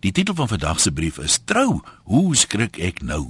Die titel van vandag se brief is Trou, hoe skrik ek nou?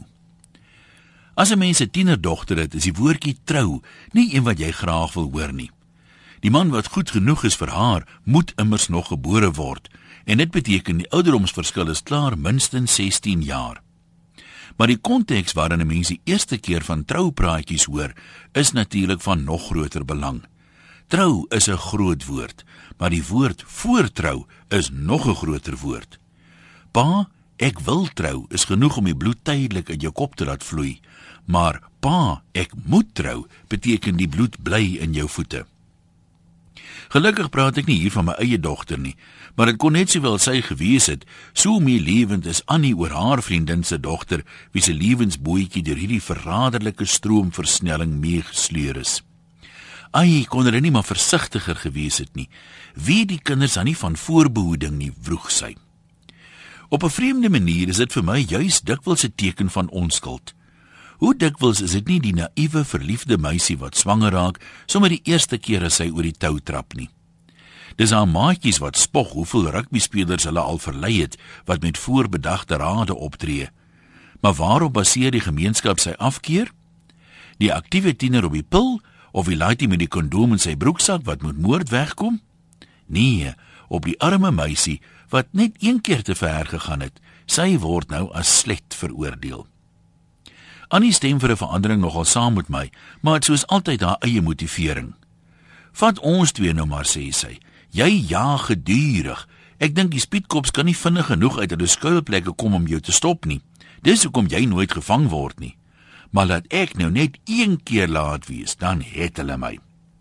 As 'n mens 'n tienerdogter het, is die woordjie trou nie een wat jy graag wil hoor nie. Die man wat goed genoeg is vir haar, moet immers nog gebore word, en dit beteken die ouderdomsverskil is klaar minstens 16 jaar. Maar die konteks waarin 'n mens die eerste keer van troupraatjies hoor, is natuurlik van nog groter belang. Trou is 'n groot woord, maar die woord voortrou is nog 'n groter woord. Pa, ek wil trou is genoeg om die bloed tydelik in jou kop te laat vloei, maar pa, ek moet trou beteken die bloed bly in jou voete. Gelukkig praat ek nie hier van my eie dogter nie, maar dit kon net sowel sy gewees het, so meelewend is Annie oor haar vriendin se dogter, wie se lewensbootjie deur hierdie verraderlike stroomversnelling meegesleur is. Ai, kon hulle nie maar versigtiger gewees het nie. Wie die kinders dan nie van voorbehoeding nie, vroeg sy. Op 'n vreemde manier is dit vir my juis dikwels 'n teken van onskuld. Hoe dikwels is dit nie die naïewe, verliefde meisie wat swanger raak, sommer die eerste keer as sy oor die tou trap nie. Dis haar maatjies wat spog hoeveel rugbyspelers hulle al verlei het, wat met voorbedagte rade optree. Maar waarop baseer die gemeenskap sy afkeer? Die aktiewe tiener op die pil, of die laaitjie met die kondoom in sy broeksak wat moet moord wegkom? Nee, op die arme meisie wat net een keer te ver gegaan het. Sy word nou as slet veroordeel. Annie stem vir 'n verandering nogal saam met my, maar het soos altyd haar eie motivering. Vat ons twee nou maar, sê sy. Jy jaag gedurig. Ek dink die spietkops kan nie vinnig genoeg uit hulle skuilplekke kom om jou te stop nie. Dis hoekom jy nooit gevang word nie. Maar laat ek nou net een keer laat wees, dan het hulle my.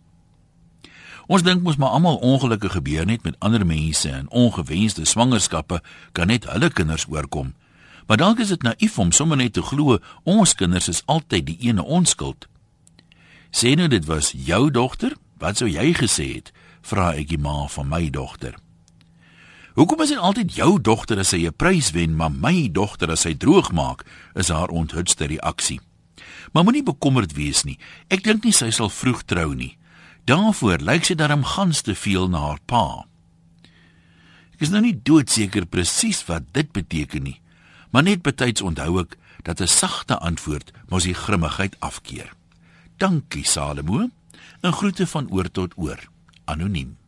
Ons dink mos maar almal ongelukke gebeur net met ander mense en ongewenste swangerskappe kan net hulle kinders oorkom. Maar dalk is dit naïef om sommer net te glo, ons kinders is altyd die ene onskuld. Sê nou dit was jou dogter, wat sou jy gesê het, vra ek die ma van my dogter. Hoekom is dit altyd jou dogter as sy 'n prys wen, maar my dogter as sy droog maak, is haar onthutste reaksie. Maar moenie bekommerd wees nie, ek dink nie sy sal vroeg trou nie. Daarvoor lyk sy darm gans te veel na haar pa. Ek is nou nie doodseker presies wat dit beteken nie, maar net betyds onthou ek dat 'n sagte antwoord mos die grimmigheid afkeer. Dankie Salomo, en groete van oor tot oor, anoniem.